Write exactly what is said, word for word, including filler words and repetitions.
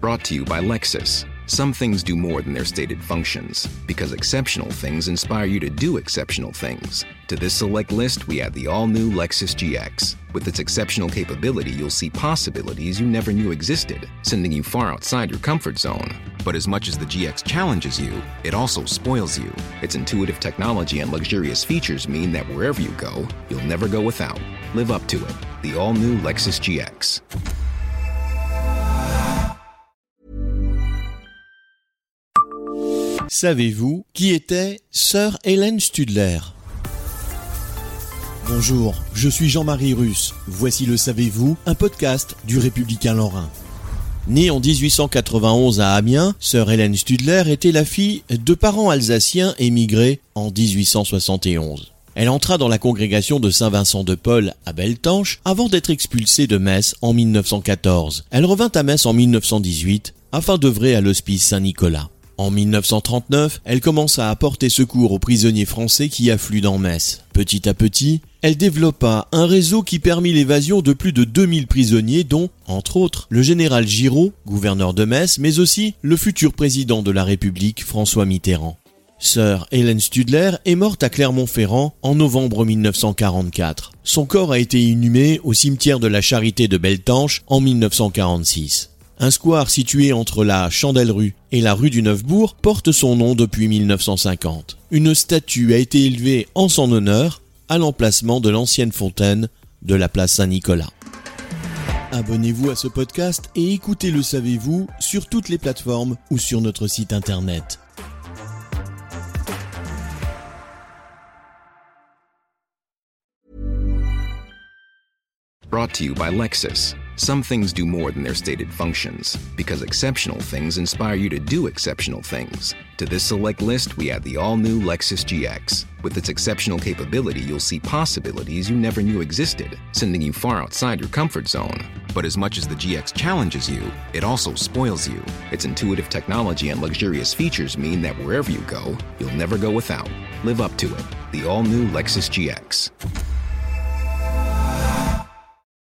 Brought to you by Lexus. Some things do more than their stated functions, because exceptional things inspire you to do exceptional things. To this select list, we add the all-new Lexus G X. With its exceptional capability, you'll see possibilities you never knew existed, sending you far outside your comfort zone. But as much as the G X challenges you, it also spoils you. Its intuitive technology and luxurious features mean that wherever you go, you'll never go without. Live up to it. The all-new Lexus G X. Savez-vous qui était Sir Helen Studler ? Bonjour, je suis Jean-Marie Russe. Voici le Savez-vous, un podcast du Républicain Lorrain. Née en dix-huit cent quatre-vingt-onze à Amiens, Sir Helen Studler était la fille de parents alsaciens émigrés en dix-huit cent soixante et onze. Elle entra dans la congrégation de Saint-Vincent de Paul à Beltanche avant d'être expulsée de Metz en mille neuf cent quatorze. Elle revint à Metz en mille neuf cent dix-huit afin d'œuvrer à l'hospice Saint-Nicolas. En mille neuf cent trente-neuf, elle commença à porter secours aux prisonniers français qui affluent dans Metz. Petit à petit, elle développa un réseau qui permit l'évasion de plus de deux mille prisonniers dont, entre autres, le général Giraud, gouverneur de Metz, mais aussi le futur président de la République, François Mitterrand. Sir Helen Studler est morte à Clermont-Ferrand en novembre mille neuf cent quarante-quatre. Son corps a été inhumé au cimetière de la Charité de Beltanche en mille neuf cent quarante-six. Un square situé entre la Chandelle-rue et la rue du Neuf-Bourg porte son nom depuis mille neuf cent cinquante. Une statue a été élevée en son honneur à l'emplacement de l'ancienne fontaine de la place Saint-Nicolas. Abonnez-vous à ce podcast et écoutez Le Savez-vous sur toutes les plateformes ou sur notre site internet. Brought to you by Lexus. Some things do more than their stated functions, because exceptional things inspire you to do exceptional things. To this select list, we add the all-new Lexus G X. With its exceptional capability, you'll see possibilities you never knew existed, sending you far outside your comfort zone. But as much as the G X challenges you, it also spoils you. Its intuitive technology and luxurious features mean that wherever you go, you'll never go without. Live up to it. The all-new Lexus G X.